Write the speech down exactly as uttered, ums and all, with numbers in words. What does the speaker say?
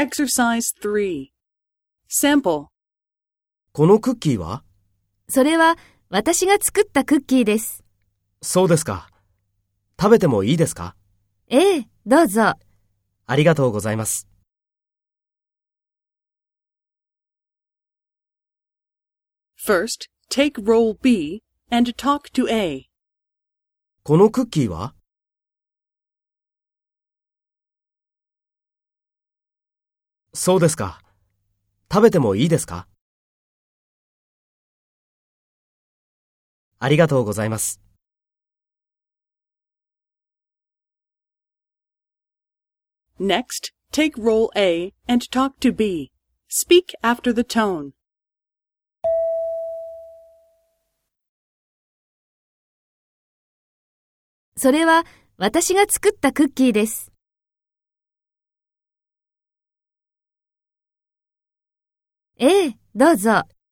Exercise three. Sample. このクッキーは？ それは私が作ったクッキーです。 そうですか。食べてもいいですか？ ええ、どうぞ。 ありがとうございます。 First, take role B and talk to A. このクッキーは？そうですか。食べてもいいですか？ありがとうございます。 Next, take role A and talk to B. Speak after the tone. それは私が作ったクッキーです。ええ、どうぞ。